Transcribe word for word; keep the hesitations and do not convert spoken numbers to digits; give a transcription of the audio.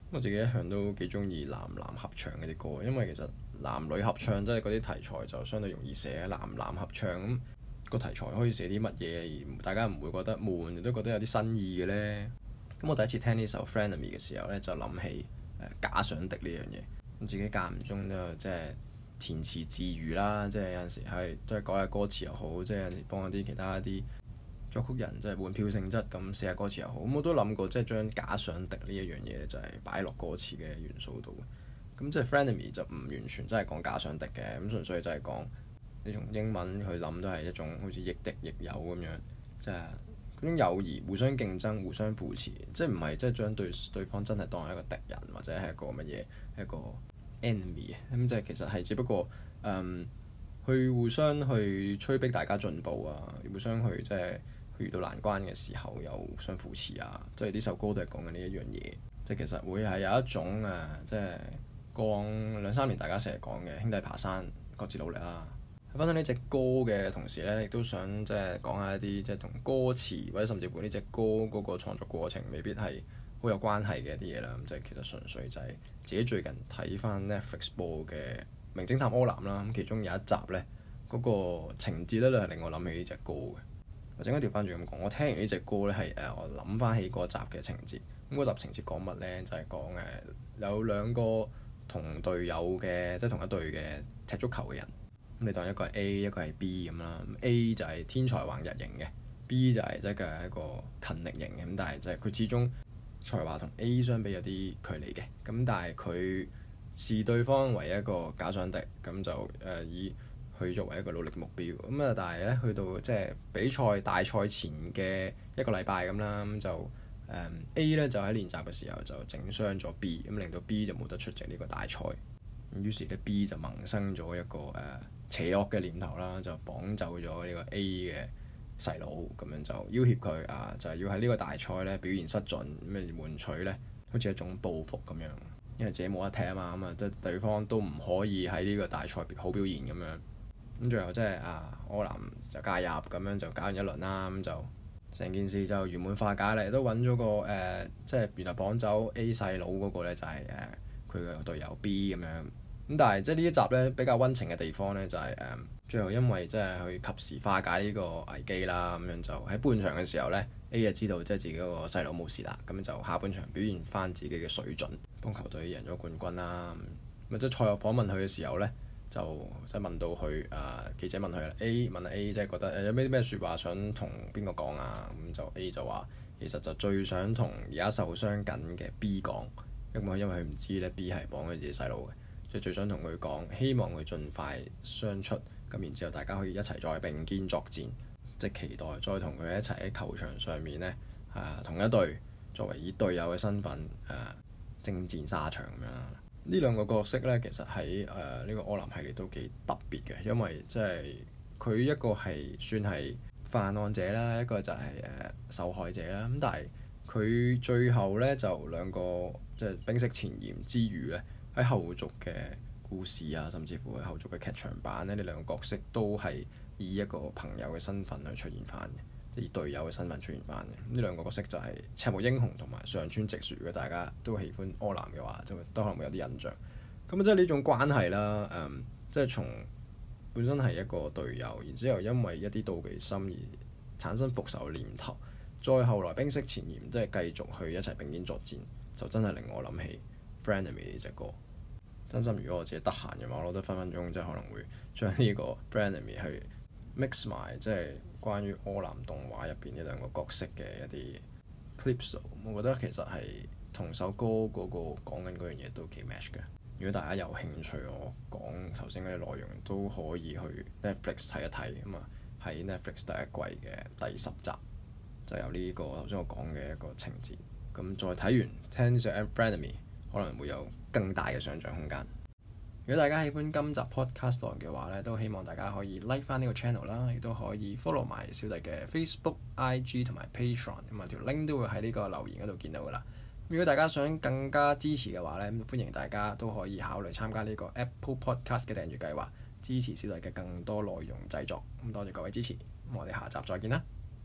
我自己一向都幾中意男男合唱嗰啲歌，因為其實男女合唱即係嗰啲題材就相對容易寫，男男合唱咁個題材可以寫啲乜嘢，而大家唔會覺得悶，亦都覺得有啲新意嘅呢。咁我第一次聽呢首《Frenemy》嘅時候呢，就諗起誒、呃、假想敵呢樣嘢。咁自己間唔中都即係填詞自娛啦，即係有陣時係即係改下歌詞又好，即係有陣時幫一啲其他一啲作曲人即係換票性質咁寫下歌詞又好。咁我都諗過即係將假想敵呢一樣嘢就係擺落歌詞嘅元素度。咁即係《Frenemy》就唔完全真係講假想敵嘅，咁純粹就係講你從英文去諗都係一種好似亦敵亦友咁樣，即係嗰種友誼互相競爭、互相扶持，即係唔係即係將對對方真係當係一個敵人或者係一個乜嘢一個 enemy 啊。咁即係其實係只不過嗯去互相去催逼大家進步啊，互相去即係去遇到難關嘅時候又互相扶持啊。即係呢首歌都係講緊呢一樣嘢，即係其實會係有一種誒、啊，即係過往兩三年大家成日講嘅兄弟爬山各自努力啦。喺分享呢隻歌嘅同時咧，亦都想即係講下一啲即係同歌詞或者甚至乎呢隻歌嗰個創作過程未必係好有關係嘅一啲嘢啦。咁即係其實純粹就係自己最近睇翻 Netflix 播嘅《名偵探柯南》啦。咁其中有一集咧，嗰、那個情節咧都係令我諗起呢隻歌嘅。或者應該調翻轉咁講，我聽完呢隻歌咧係誒我諗翻起嗰集嘅情節。咁嗰集情節講乜咧？就係講誒有兩個同隊友嘅，即係同一隊嘅踢足球嘅人。咁你當一個係 A， 一個係 B 咁啦。A 就係天才橫溢型嘅 ，B 就係即係一個勤力型嘅。咁但係即係佢始終才華同 A 相比有啲距離嘅。咁但係佢視對方為一個假想敵，咁就誒、呃、以佢作為一個努力嘅目標。咁啊，但係咧去到即係比賽大賽前嘅一個禮拜咁啦，咁就誒、呃、A 咧就喺練習嘅時候就整傷咗 B，咁令到 B 就冇得出席呢個大賽。咁於是咧 B 就萌生咗一個誒、呃邪惡嘅念頭啦，就綁走咗呢個 A 嘅細佬，咁樣就要挾佢啊，就係、是、要喺呢個大賽咧表現失準，咁嚟換取咧好似一種報復咁樣，因為自己冇得踢啊嘛，咁啊即係對方都唔可以喺呢個大賽好表現咁樣。咁最後即係啊柯南就介入，咁樣就搞完一輪啦，咁就成件事就圓滿化解嚟，都揾咗個誒、呃，即係原來綁走 A 細佬嗰個咧就係誒佢嘅隊友 B 咁樣。咁但係即係呢一集咧比較溫情嘅地方咧就係、是、誒、嗯、最後因為即係去及時化解呢個危機啦，咁樣就喺半場嘅時候咧 A 就知道即係自己嗰個細佬冇事啦，咁就下半場表現翻自己嘅水準，幫球隊贏咗冠軍啦。咁即係賽後訪問佢嘅時候咧，就即係問到佢誒、呃、記者問佢啦 A 問 A 即係覺得誒有咩咩説話想同邊個講啊？咁就 A 就話其實就最想同而家受傷緊嘅 B 講，因為因為佢唔知咧 B 係綁佢自己細佬嘅。就最想同佢講，希望佢盡快傷出，咁然之後大家可以一齊再並肩作戰，即係期待再同佢一齊喺球場上面呢，啊同一隊作為以隊友嘅身份誒征戰沙場咁樣。呢兩個角色呢，其實喺誒呢個柯南系列都幾特別嘅，因為即係佢一個係算係犯案者啦，一個就係誒受害者啦。咁但係佢最後呢，就兩個即係冰釋前嫌之餘呢。喺後續嘅故事啊，甚至乎喺後續嘅劇場版咧，呢兩個角色都係以一個朋友嘅身份去出現翻嘅，以隊友嘅身份出現翻嘅。呢兩個角色就係赤木英雄同埋上川直樹。如果大家都喜歡柯南嘅話，就都可能會有啲印象。咁即係呢種關係啦，誒、嗯，即係從本身係一個隊友，然之後因為一啲妒忌心而產生復仇嘅念頭，再後來冰釋前嫌，即係繼續去一齊並肩作戰，就真係令我諗起《Frenemy》呢隻歌。真心如果我自己得閒嘅話，我覺得分分鐘即係可能會將呢個《Frenemy》去 mix 埋，即係關於柯南動畫入邊呢兩個角色嘅一啲 clips。我覺得其實係同首歌嗰個講緊嗰樣嘢都幾 match 嘅。如果大家有興趣，我講頭先嗰啲內容都可以去 Netflix 睇一睇咁啊。喺 Netflix 第一季嘅第十集就有呢個頭先我講嘅一個情節。咁再睇完聽呢隻《Frenemy》，可能會有更大嘅想像空間。如果大家喜歡今集 podcast 嘅話咧，都希望大家可以 like 翻呢個 channel 啦，亦都可以 follow 埋小弟嘅 Facebook、I G 同埋 Patreon，咁啊條 link 都會喺呢個留言嗰度見到噶啦。如果大家想更加支持嘅話咧，歡迎大家都可以考慮參加呢個 Apple Podcast 嘅訂閱計劃，支持小弟嘅更多內容製作。咁多謝各位支持，咁我哋下集再見啦〜